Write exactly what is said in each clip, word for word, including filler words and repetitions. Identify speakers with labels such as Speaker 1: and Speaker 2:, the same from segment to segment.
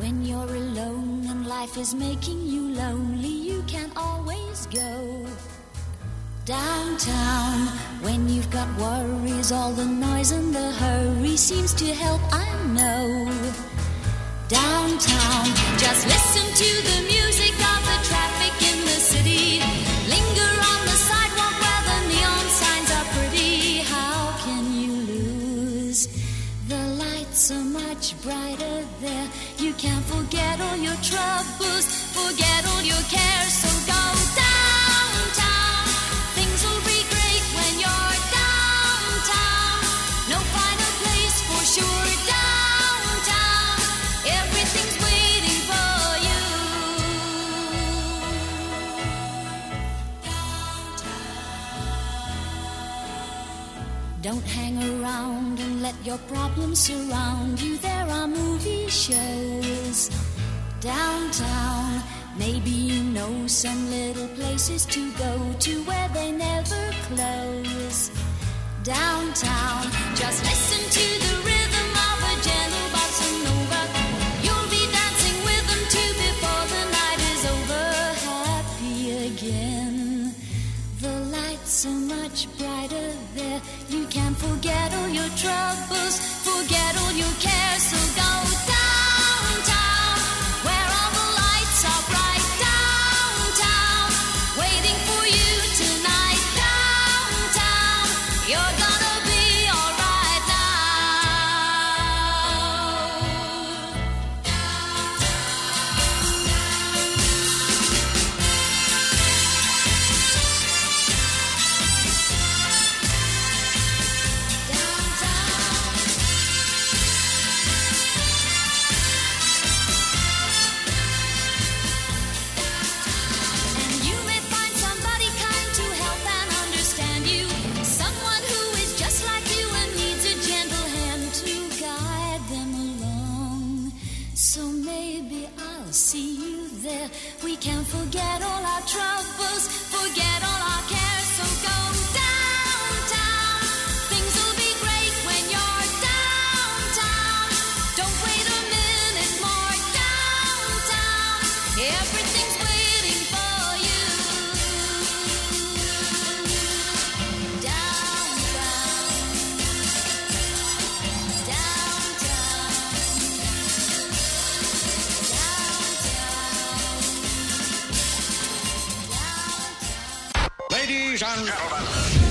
Speaker 1: When you're alone and life is making you lonely, you can always go downtown. When you've got worries, all the noise and the hurry seems to help, I know. Downtown, just listen to the music of the traffic in the city. Linger on the sidewalk where the neon signs are pretty. How can you lose? The lights are much brighter there. You can't forget all your troubles, forget all your cares, so go downtown. Things will be great when you're downtown. No finer place for sure, downtown. Everything's waiting for you. Downtown. Don't hang around and let your problems surround you. There are movie shows downtown. Maybe you know some little places to go to where they never close. Downtown, just listen to the rhythm of a gentle bossa nova. You'll be dancing with them too before the night is over. Happy again. The lights are much brighter there. You can forget all your troubles, forget all your cares, so go downtown, where all the lights are bright. Downtown, waiting for you tonight. Downtown, you're gonna be alright can't forget all our troubles, forget all our cares, so go downtown. Things will be great when you're downtown. Don't wait a minute more. Downtown, everything's waiting for you. Downtown, downtown,
Speaker 2: Ladies and gentlemen.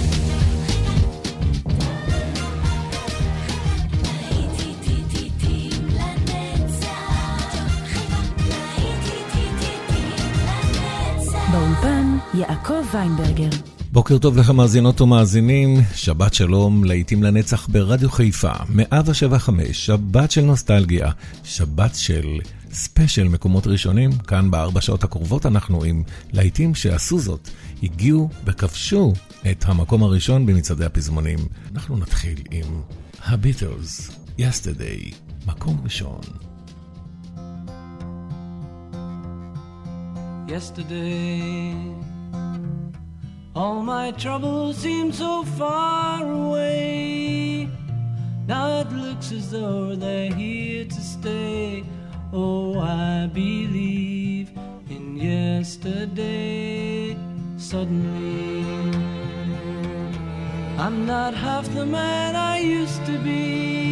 Speaker 3: באולפן יעקב ויינברגר.
Speaker 4: בוקר טוב לכם מאזינות ומאזינים, שבת שלום, להיטים לנצח ברדיו חיפה, מאה שבע חמש, שבת של נוסטלגיה, שבת של ספיישל מקומות ראשונים. כאן בארבע שעות הקרובות אנחנו עם להיטים שעשו זאת, הגיעו וכבשו את המקום הראשון במצעדי הפזמונים. אנחנו נתחיל עם הביטלס, Yesterday, מקום ראשון.
Speaker 5: Yesterday, all my troubles seem so far away. Now it looks as though they're here to stay. Oh, I believe in yesterday. Suddenly, I'm not half the man I used to be.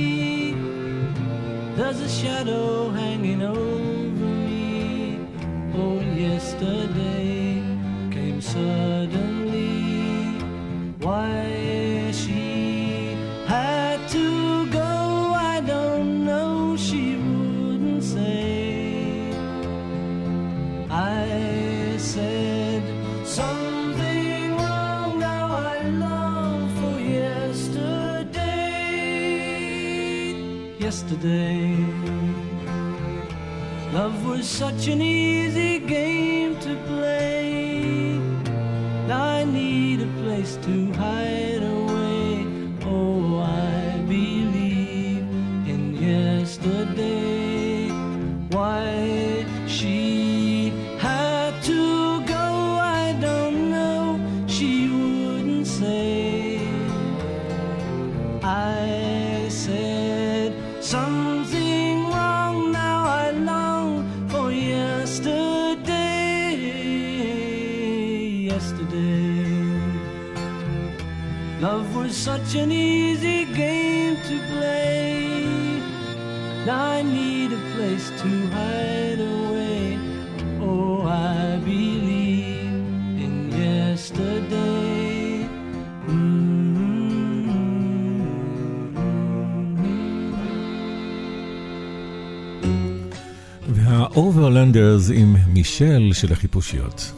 Speaker 5: There's a shadow hanging over me. Oh, yesterday came suddenly. Why she had to go, I don't know. She wouldn't say. I said something wrong. Now I long for yesterday. Yesterday, love was such an easy game to play. Now I need a place to hide away. Oh, I believe in yesterday. Why she had to go, I don't know. She wouldn't say. I said something wrong. Now I long Love was such an easy game to play. Now I need a place to hide away. Oh, I believe in yesterday.
Speaker 4: והאוברלנדרס עם מישל של החיפושיות.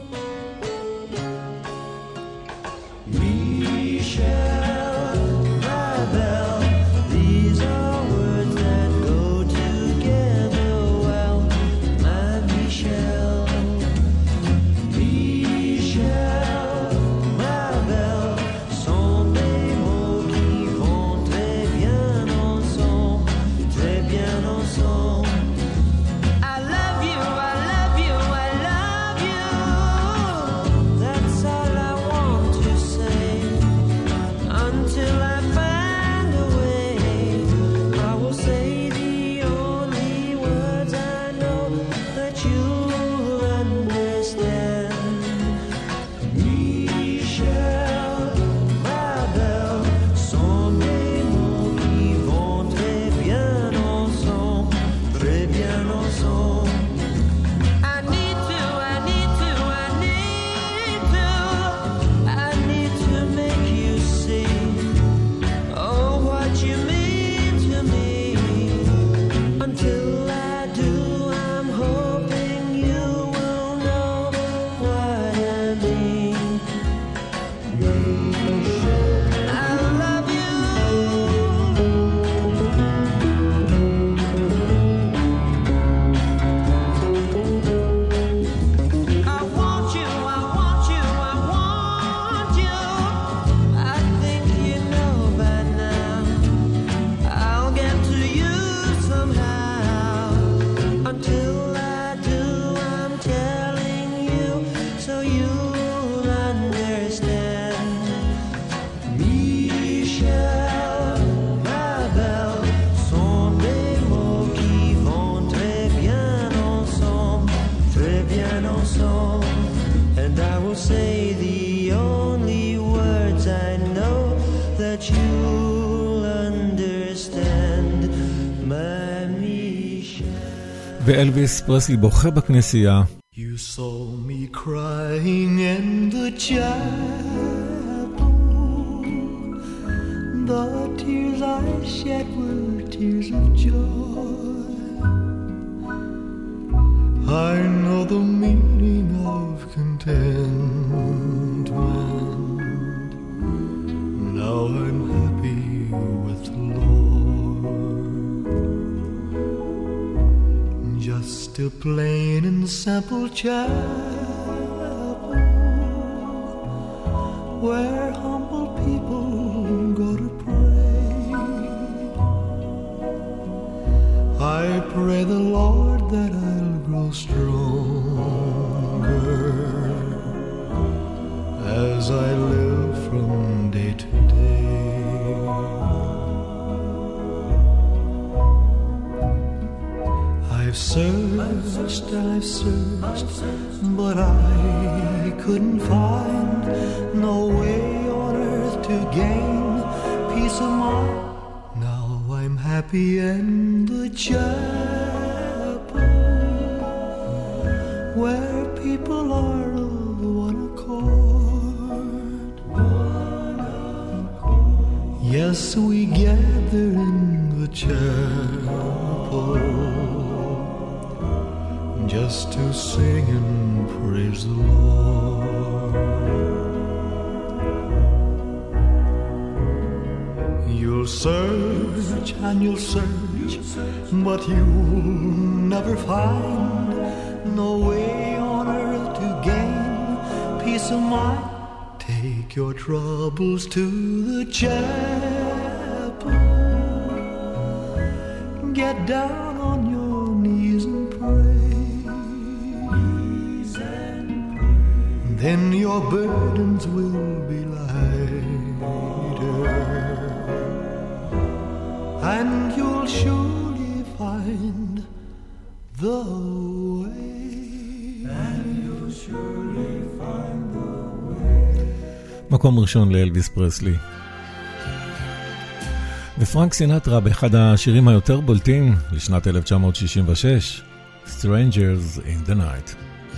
Speaker 4: ואלוויס פרסלי בוכה בכנסייה.
Speaker 2: You saw me crying in the chapel. The tears I shed were tears of joy. I know the meaning of contentment. Now I'm happy with the Lord. Just a plain and simple chapel where humble people go to pray. I pray the Lord that I'll grow stronger as I live from day to day. I've searched, I've searched, but I couldn't find no way on earth to gain peace of mind. Now I'm happy in the chapel where people are of one accord. One accord. Yes, we gather in the chapel just to sing and praise the Lord. You'll search and you'll search, but you'll never find no way on earth to gain peace of mind. Take your troubles to the chapel. Get down on your knees and pray. Then your burdens will be lighter, and you'll surely find the way. And you'll surely find the way.
Speaker 4: מקום ראשון לאלוויס פרסלי. ופרנק סינטרה באחד השירים היותר בולטים לשנת אלף תשע מאות שישים ושש, Strangers in the Night.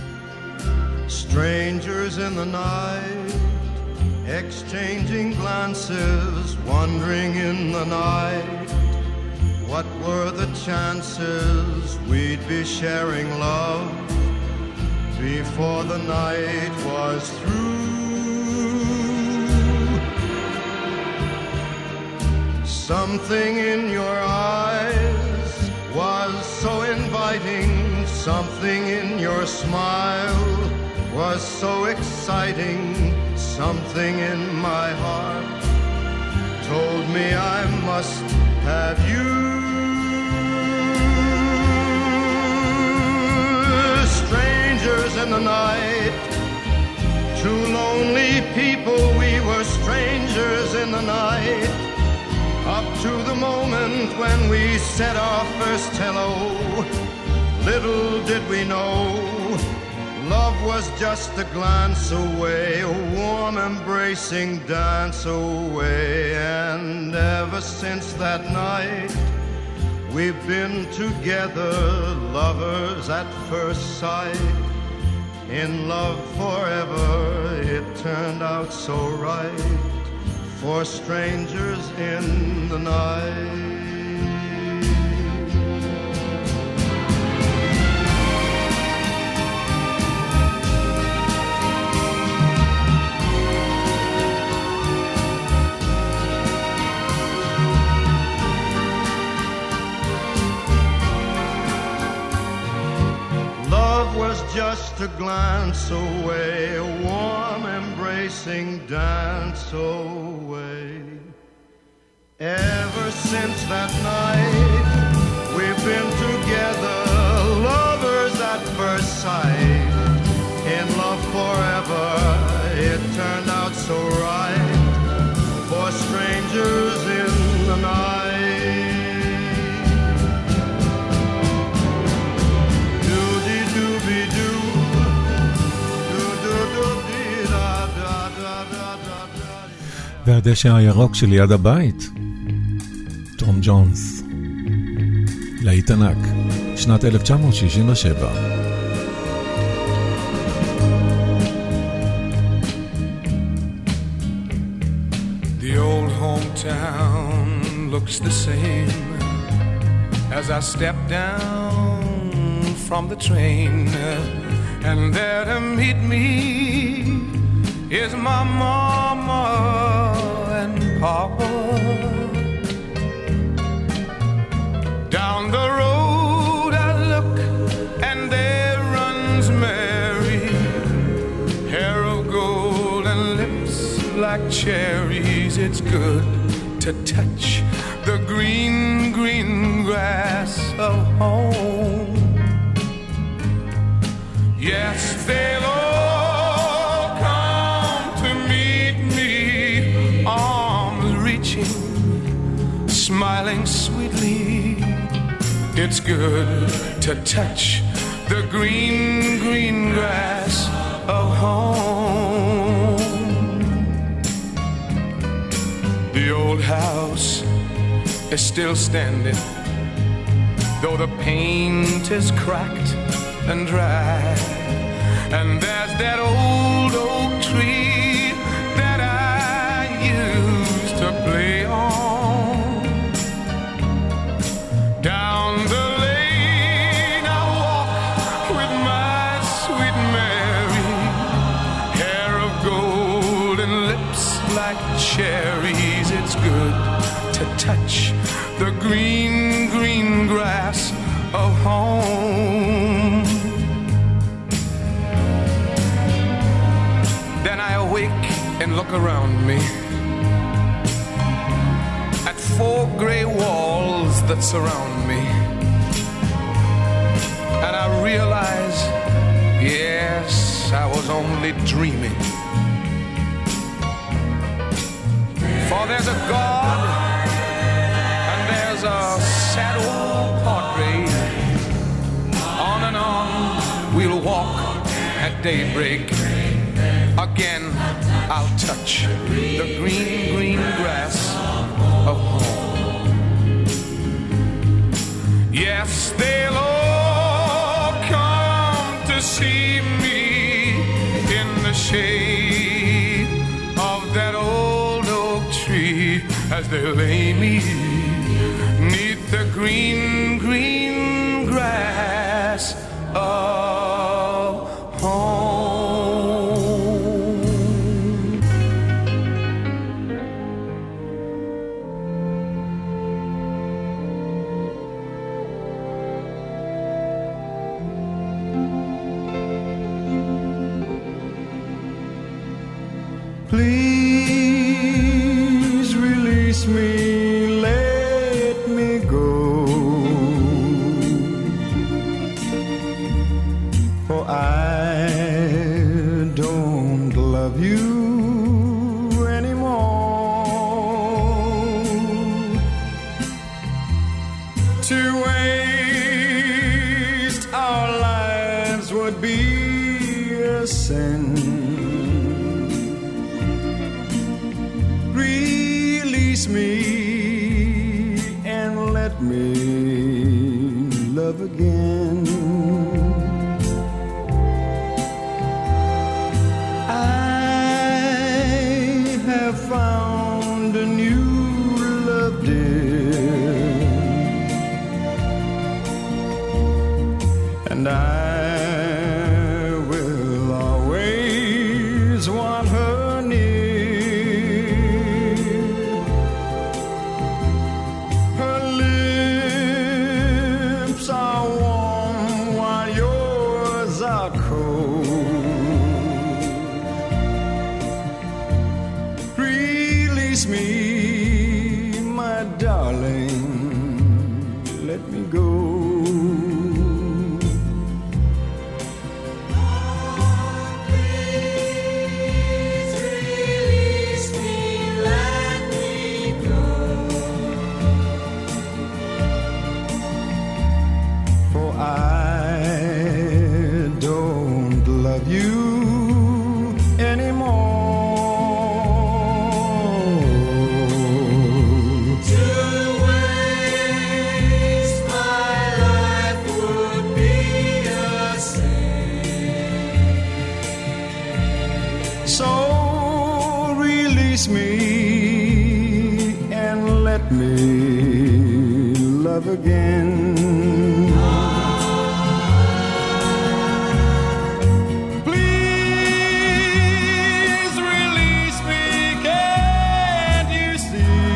Speaker 2: Strangers in the night, exchanging glances, wandering in the night. What were the chances we'd be sharing love before the night was through? Something in your eyes was so inviting, something in your smile was so exciting, something in my heart told me I must have you. Strangers in the night, two lonely people, we were strangers in the night, up to the moment when we said our first hello. Little did we know, love was just a glance away, a warm embracing dance away. And ever since that night, we've been together, lovers at first sight. In love forever, it turned out so right, for strangers in the night. Was just a glance away, a warm embracing dance away. Ever since that night, we've been together, lovers at first sight. In love forever, it turned out so right, for strangers in the night.
Speaker 4: והדשא הירוק שליד הבית, תום ג'ונס, להיט ענק, שנת אלף תשע מאות שישים ושבע.
Speaker 6: The old hometown looks the same as I step down from the train, and there to meet me is my mama and papa. Down the road I look and there runs Mary, hair of gold and lips like cherries. It's good to touch the green, green grass of home. Yes, they'll all smiling sweetly. It's good to touch the green, green grass of home. The old house is still standing, though the paint is cracked and dry. And there's that old oak tree that I used to play on. Down the lane I walk with my sweet Mary, hair of gold and lips like cherries. It's good to touch the green, green grass of home. Then I awake and look around me at four gray walls that surround me, and I realize, yes, I was only dreaming. For there's a God and there's a sad old portrait. On and on we'll walk at daybreak again I'll touch the green, green grass of home. Yes, they'll all come to see me in the shade of that old oak tree as they lay me neath the green, green grass of home.
Speaker 2: Please release me, let me go, for I don't love you anymore. To waste our lives would be a sin. Release me and let me love again. I have found a new love, dear, and I will always want her near. Her lips are warm while yours are cold. Release me, my darling, let me go. Again. Please release me, can't you see?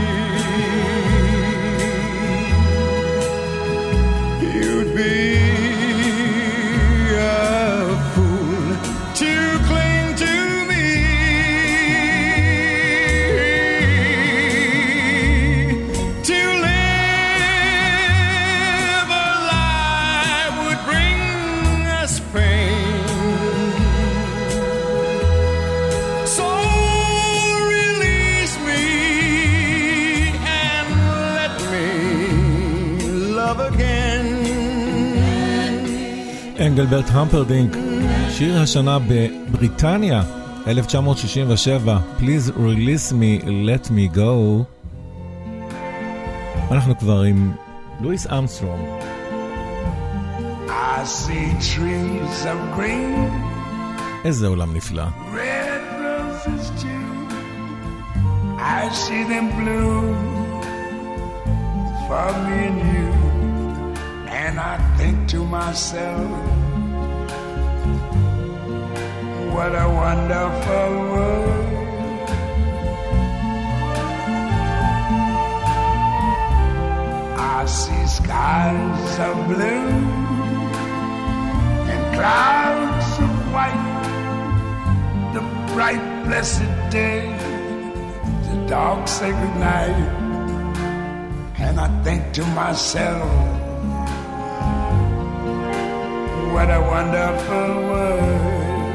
Speaker 2: You'd be a fool to cling to me. To
Speaker 4: אנגלברט המפרדינק, שיר השנה בבריטניה, אלף תשע מאות שישים ושבע, Please Release Me, Let Me Go. אנחנו כבר עם לואיס אמסטרונג.
Speaker 6: I see trees of green,
Speaker 4: איזה עולם נפלא.
Speaker 6: red roses too, I see them bloom for me and you. And I think to myself, what a wonderful world. I see skies of blue and clouds of white, the bright blessed day, the dark sacred night. And I think to myself, what a wonderful world.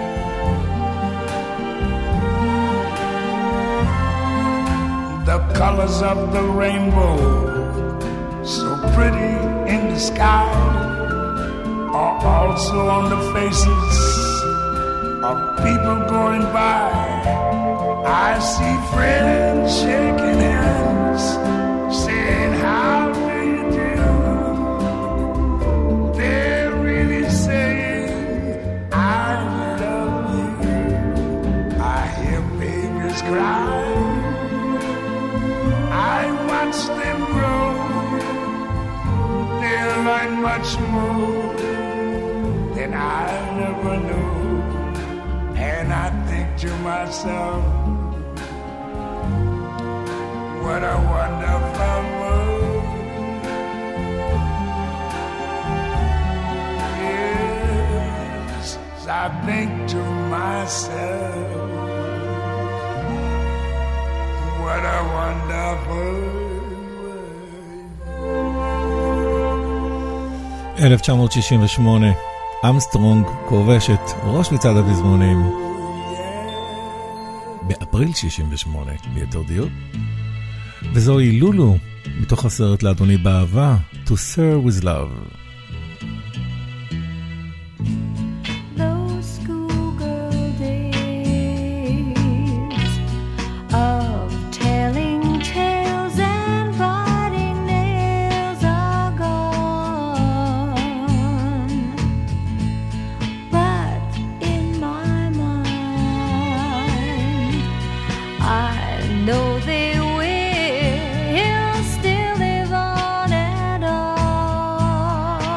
Speaker 6: The colors of the rainbow, so pretty in the sky, are also on the faces
Speaker 7: of people going by. I see friends shaking hands, saying how do you do. They're really saying I love you. I hear babies cry, I watch them grow. They'll learn much more than I never knew. And I think to myself, what a wonderful world. Yes, I think to myself, what a wonderful world.
Speaker 4: אלף תשע מאות שישים ושמונה, אמסטרונג כובש את ראש מצעד הפזמונים. באפריל שישים ושמונה, ליתר דיוק. וזוהי לולו, מתוך הסרט לאדוני באהבה, To Serve with Love.
Speaker 8: Those schoolgirl days of telling tales and biting nails are gone, but in my mind I know they will still live on and on.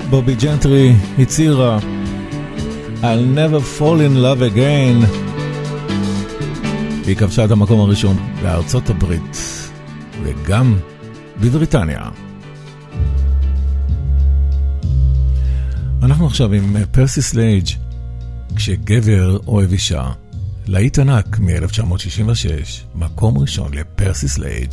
Speaker 4: בובי ג'נטרי הצהירה I'll never fall in love again. היא כבשה את המקום הראשון בארצות הברית וגם בבריטניה. אנחנו עכשיו עם פרסי סלייג' כשגבר אוהב אישה. להיט ענק מ-אלף תשע מאות שישים ושש, מקום ראשון לפרסי סלייג'.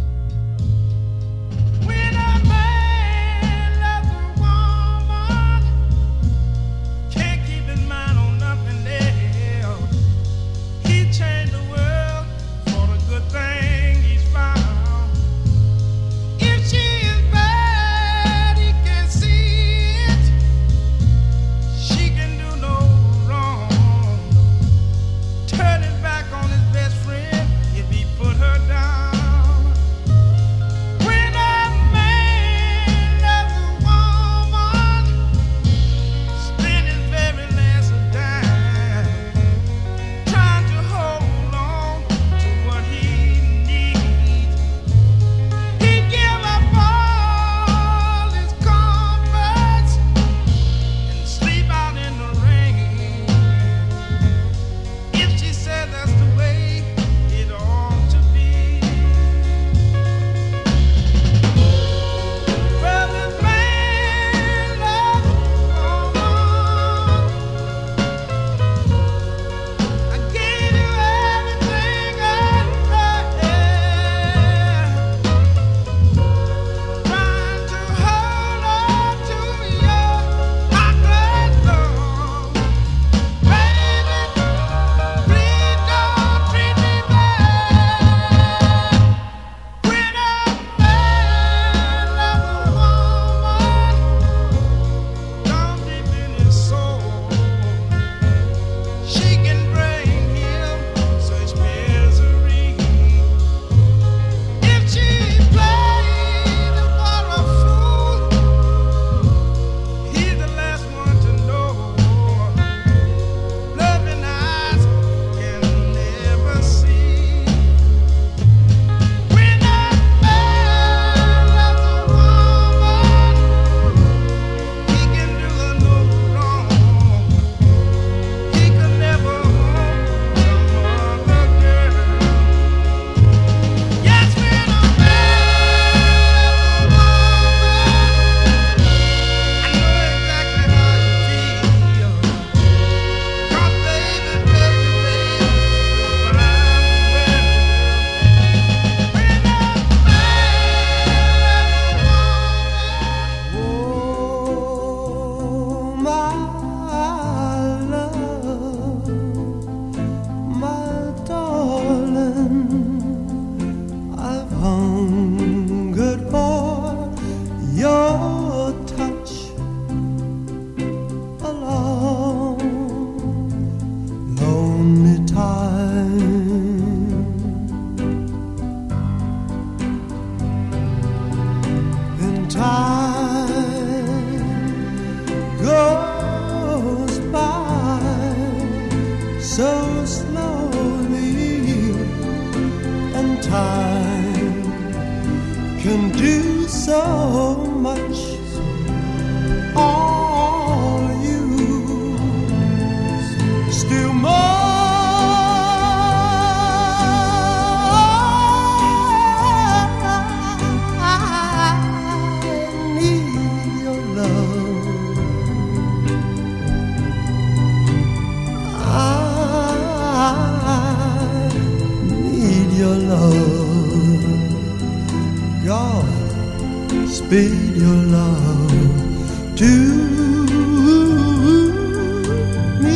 Speaker 9: Speed your love to me.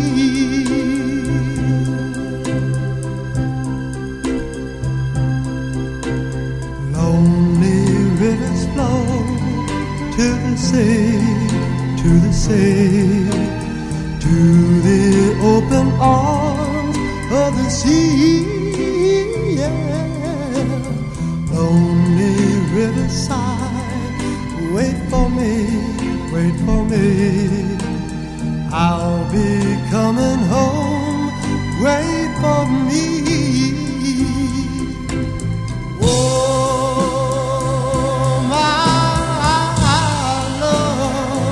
Speaker 9: Lonely rivers flow to the sea, to the sea, to the open arms of the sea. Yeah. Lonely riverside, wait for me, wait for me. I'll be coming home, wait for me. Oh, my love,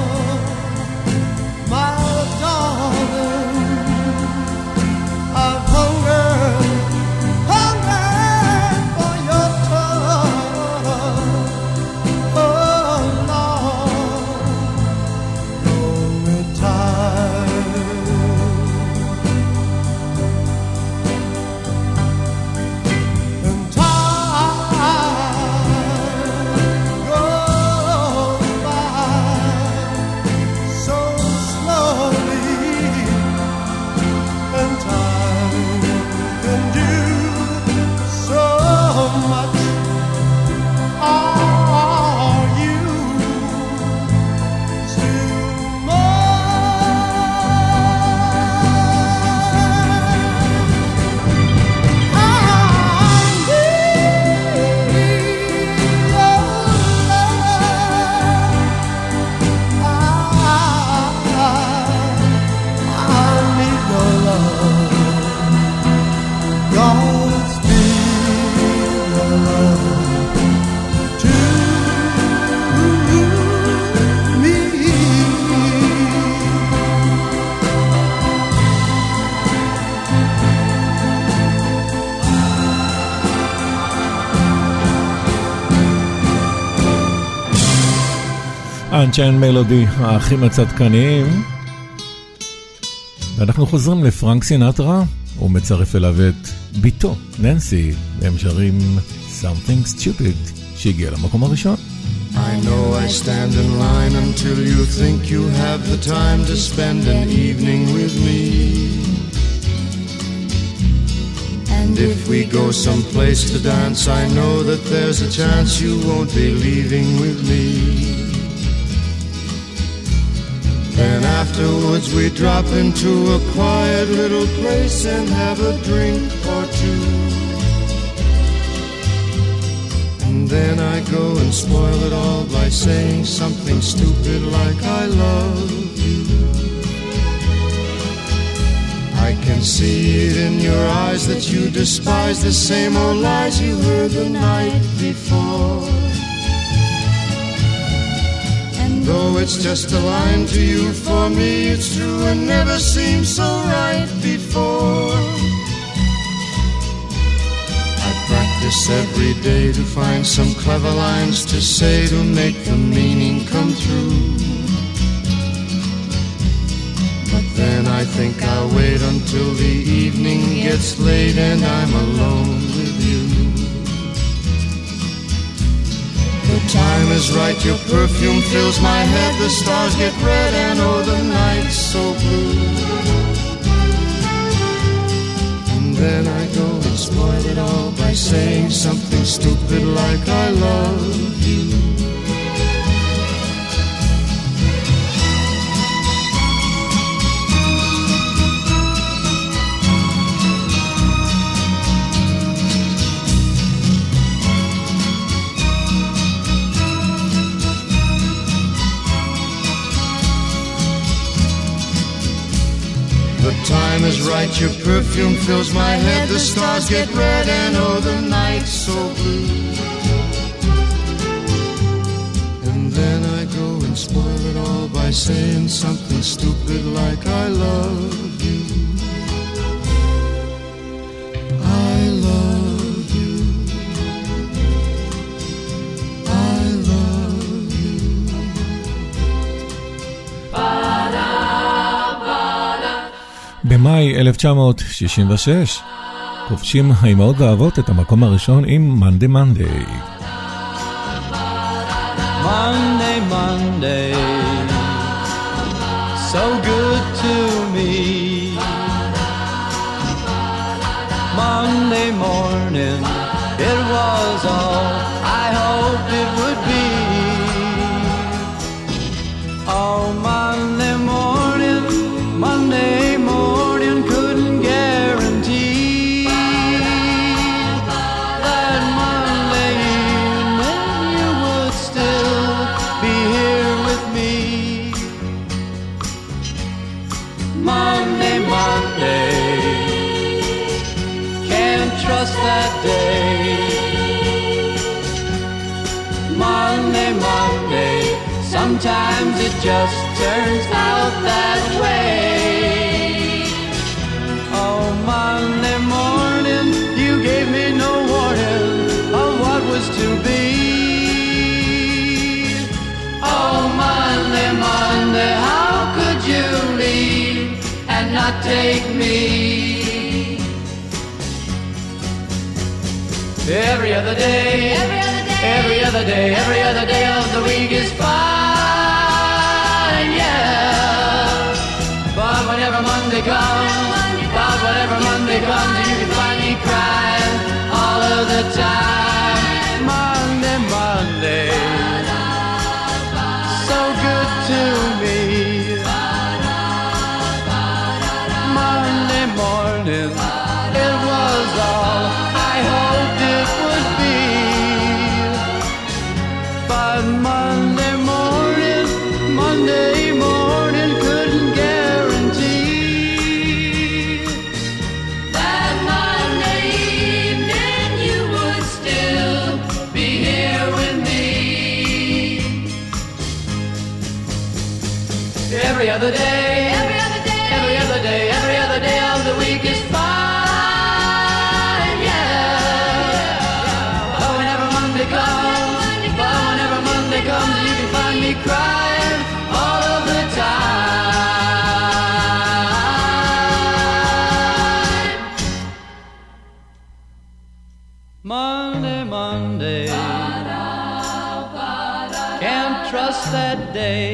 Speaker 4: Unchained Melody, האחים הצדקניים. ואנחנו חוזרים לפרנק סינטרה, הוא מצרף אליו את ביתו, ננסי, והם שרים Something Stupid, שהגיע למקום הראשון.
Speaker 2: I know I stand in line until you think you have the time to spend an evening with me. And if we go someplace to dance, I know that there's a chance you won't be leaving with me. Then afterwards we drop into a quiet little place and have a drink or two. And then I go and spoil it all by saying something stupid like I love you. I can see it in your eyes that you despise the same old lies you heard the night before. And though it's just a line to you, for me it's true and never seemed so right before. I practice every day to find some clever lines to say to make the meaning come true. But then I think I'll wait until the evening gets late and I'm alone with you. The time is right, your perfume fills my head, the stars get red and oh the night's so blue. And then I go and spoil it all by saying something stupid like I love you. The time is right, your perfume fills my head, the stars get red and oh the night's so blue. And then I go and spoil it all by saying something stupid like I love you. I love you. I love you.
Speaker 4: במאי אלף תשע מאות שישים ושש כובשים האימהות והאבות את המקום הראשון עם Monday Monday.
Speaker 5: Monday, Monday, so good to me. Monday morning, it was all I hoped it would be. Oh, Monday morning, Monday morning, couldn't guarantee that Monday evening you would still be here with me. Monday, Monday, can't trust that day. Monday, Monday, sometimes it just turns out that way. Oh, Monday morning, you gave me no warning of what was to be. Oh, Monday, Monday, how could you leave and not take me? Every other day, every other day, every other day, every other day of the week is fine, yeah. But whenever Monday comes, but whenever Monday comes, you can find me crying all of the time. Monday, Monday, so good to me. Monday morning, it was all I hoped it would be. But Monday morning, Monday morning couldn't guarantee that Monday evening you would still be here with me. Every other day, every other day, every other day, every other day of the week is fine, yeah. But whenever Monday comes, but whenever Monday comes, you can find me crying Monday, Monday, can't trust that day.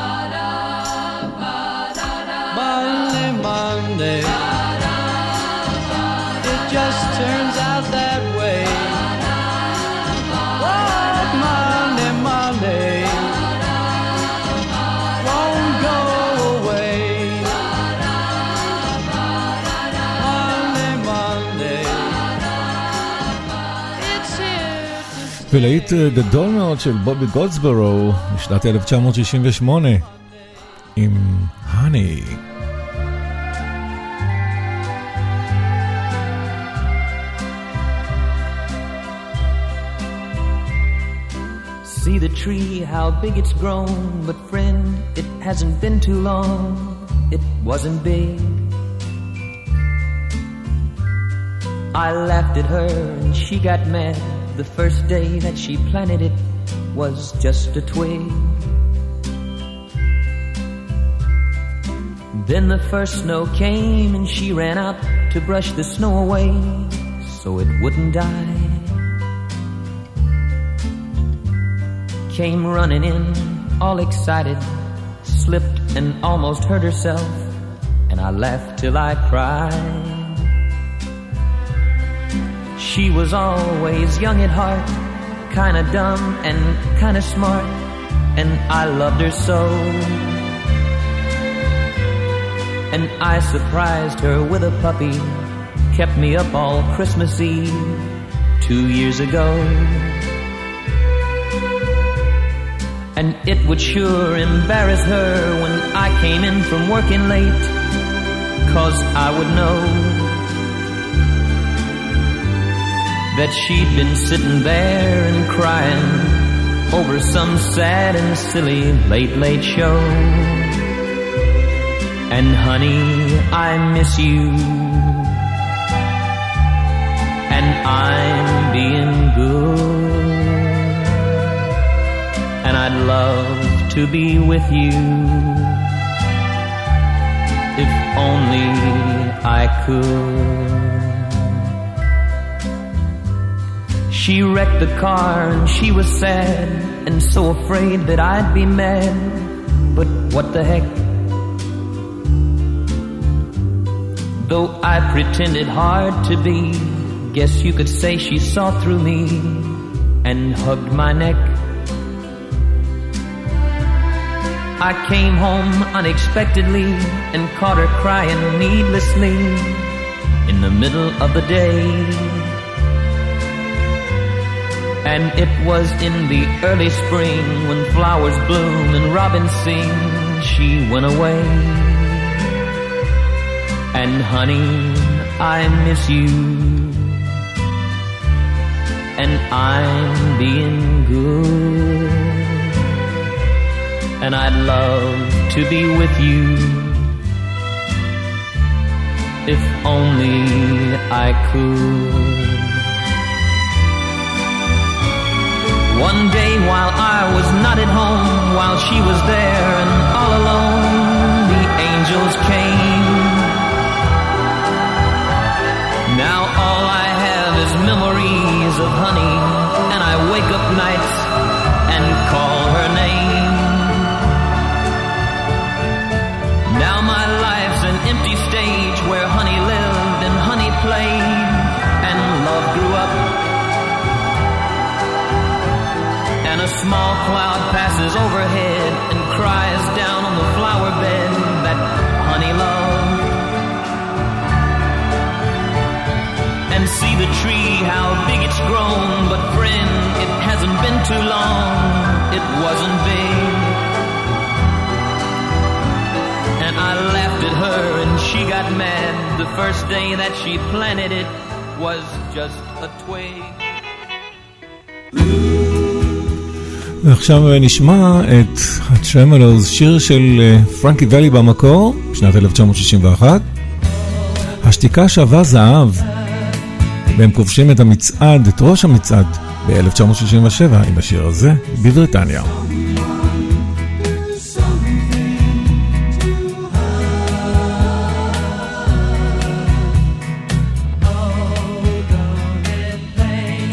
Speaker 5: Monday, Monday, it just turns out that way. Oh, Monday, Monday, won't go away. Monday, Monday, it's here to stay.
Speaker 4: ולהיט גדול מאוד של בובי גולדסבורו משנת אלף תשע מאות שישים ושמונה עם הני.
Speaker 10: See the tree, how big it's grown, but friend, it hasn't been too long, it wasn't big. I laughed at her and she got mad. The first day that she planted it was just a twig. Then the first snow came and she ran out to brush the snow away so it wouldn't die. Came running in, all excited, slipped and almost hurt herself, and I laughed till I cried. She was always young at heart, kinda dumb and kinda smart, and I loved her so. And I surprised her with a puppy, kept me up all Christmas Eve, two years ago. And it would sure embarrass her when I came in from working late, 'cause I would know that she'd been sitting there and crying over some sad and silly late, late show. And honey, I miss you, and I'm being good, and I'd love to be with you, if only I could. She wrecked the car and she was sad and so afraid that I'd be mad, but what the heck? Though I pretended hard to be, guess you could say she saw through me and hugged my neck. I came home unexpectedly and caught her crying needlessly in the middle of the day. And it was in the early spring when flowers bloom and robins sing, she went away. And honey, I miss you, and I'm being good, and I'd love to be with you, if only I could. One day while I was not at home, while she was there and all alone, the angels came. Now all I have is memories of honey, and I wake up nights and call her name. Now my life's an empty stage where honey lived and honey played and love grew up. And a small cloud passes overhead and cries down on the flower bed that honey loved. And see the tree, how big it's grown, but friend, it hasn't been too long, it wasn't big. And I laughed at her and she got mad. The first day that she planted it was just a twig.
Speaker 4: ועכשיו נשמע את הטרמולוז, שיר של פרנקי ואלי במקור, בשנת אלף תשע מאות שישים ואחת. השתיקה שווה זהב, והם כובשים את המצעד, את ראש המצעד, ב-אלף תשע מאות שישים ושבע עם השיר הזה בבריטניה.
Speaker 5: Oh, don't it plain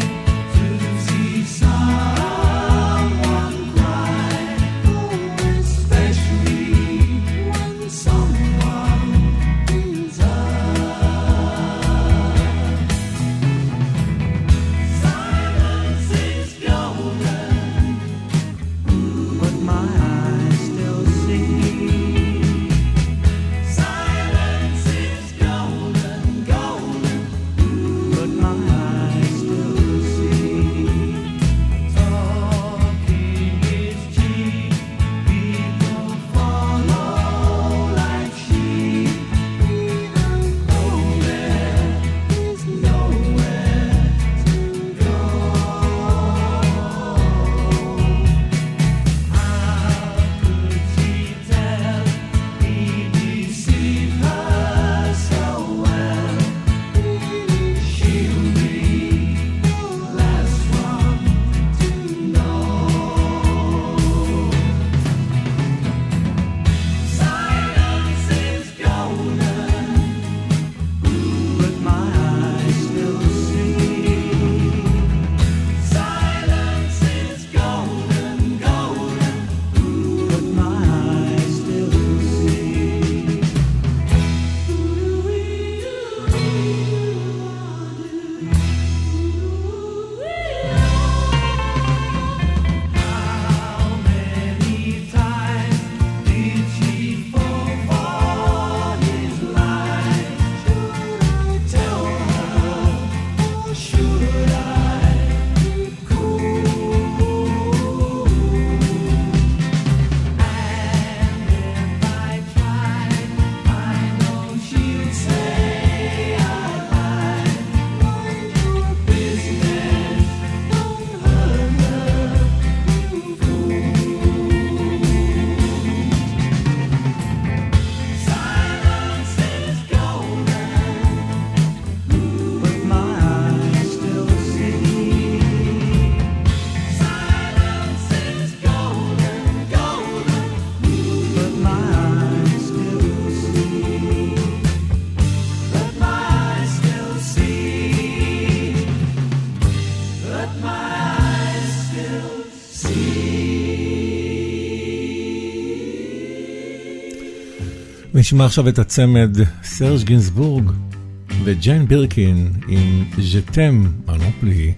Speaker 4: נשמע עכשיו את הצמד סרג' גינסבורג וג'יין בירקין עם ז'תם אנופלי.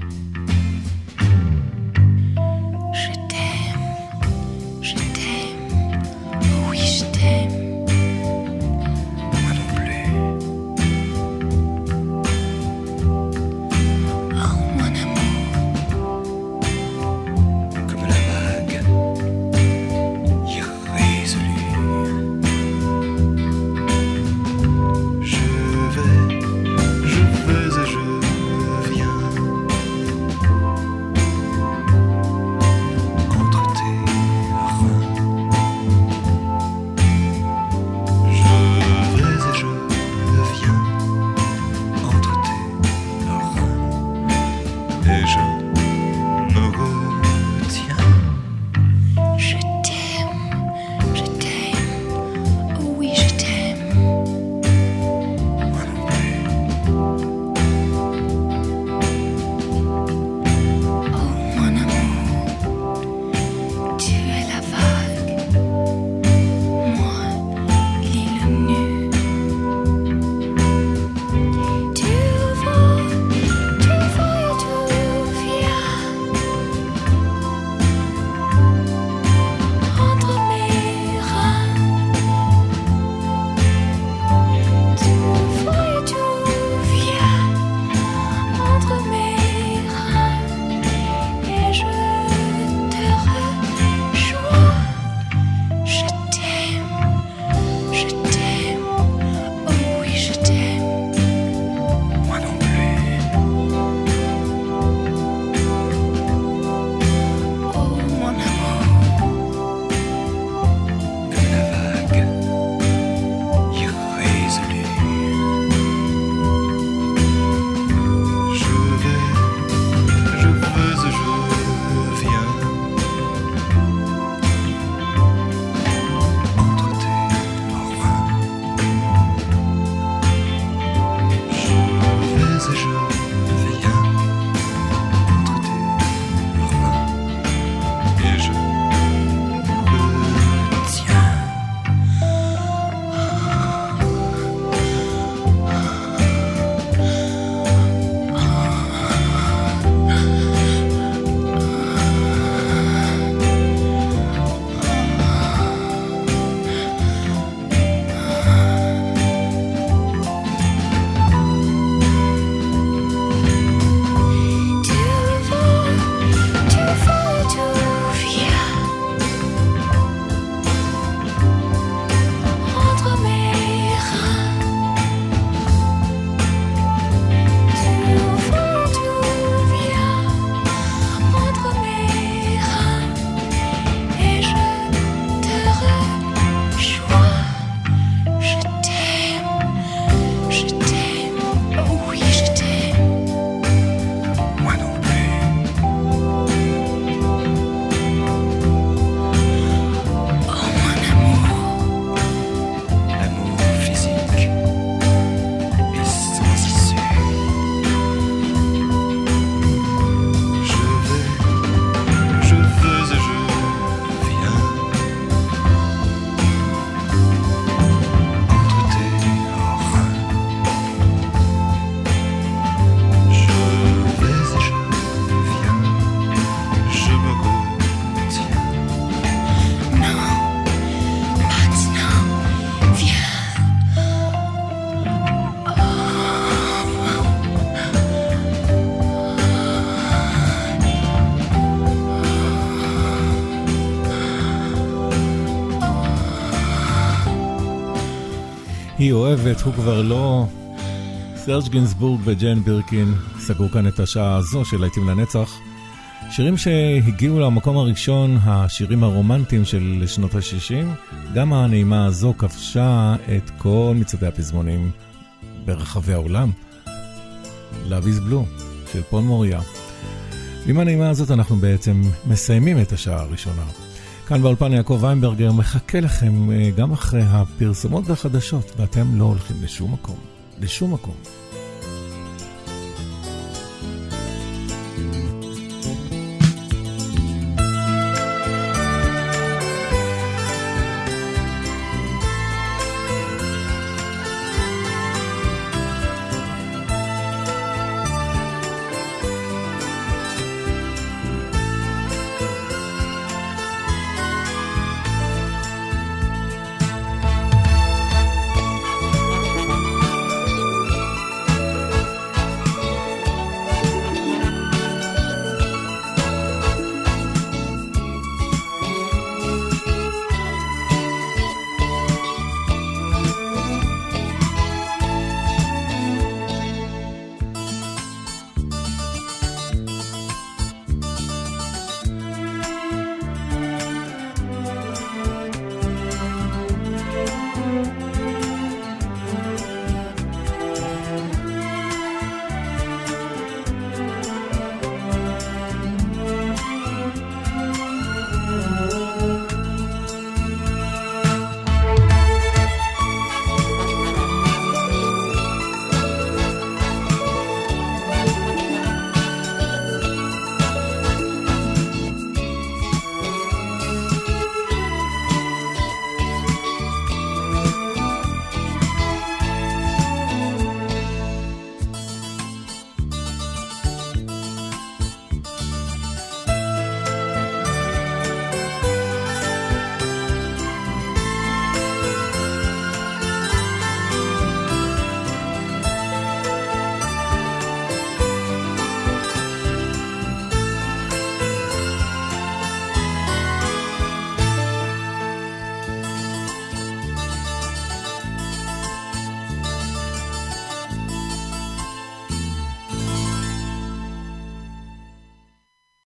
Speaker 4: היא אוהבת, הוא כבר לא. סרג' גינסבורג וג'יין בירקין סגרו כאן את השעה הזו של להיטים לנצח. שירים שהגיעו למקום הראשון, השירים הרומנטיים של שנות ה-שישים. גם הנעימה הזו כבשה את כל מצעדי הפזמונים ברחבי העולם. Love is Blue של פול מוריה. ועם הנעימה הזאת אנחנו בעצם מסיימים את השעה הראשונה. כאן באולפן יעקב ויינברגר מחכה לכם גם אחרי הפרסומות והחדשות, ואתם לא הולכים לשום מקום, לשום מקום.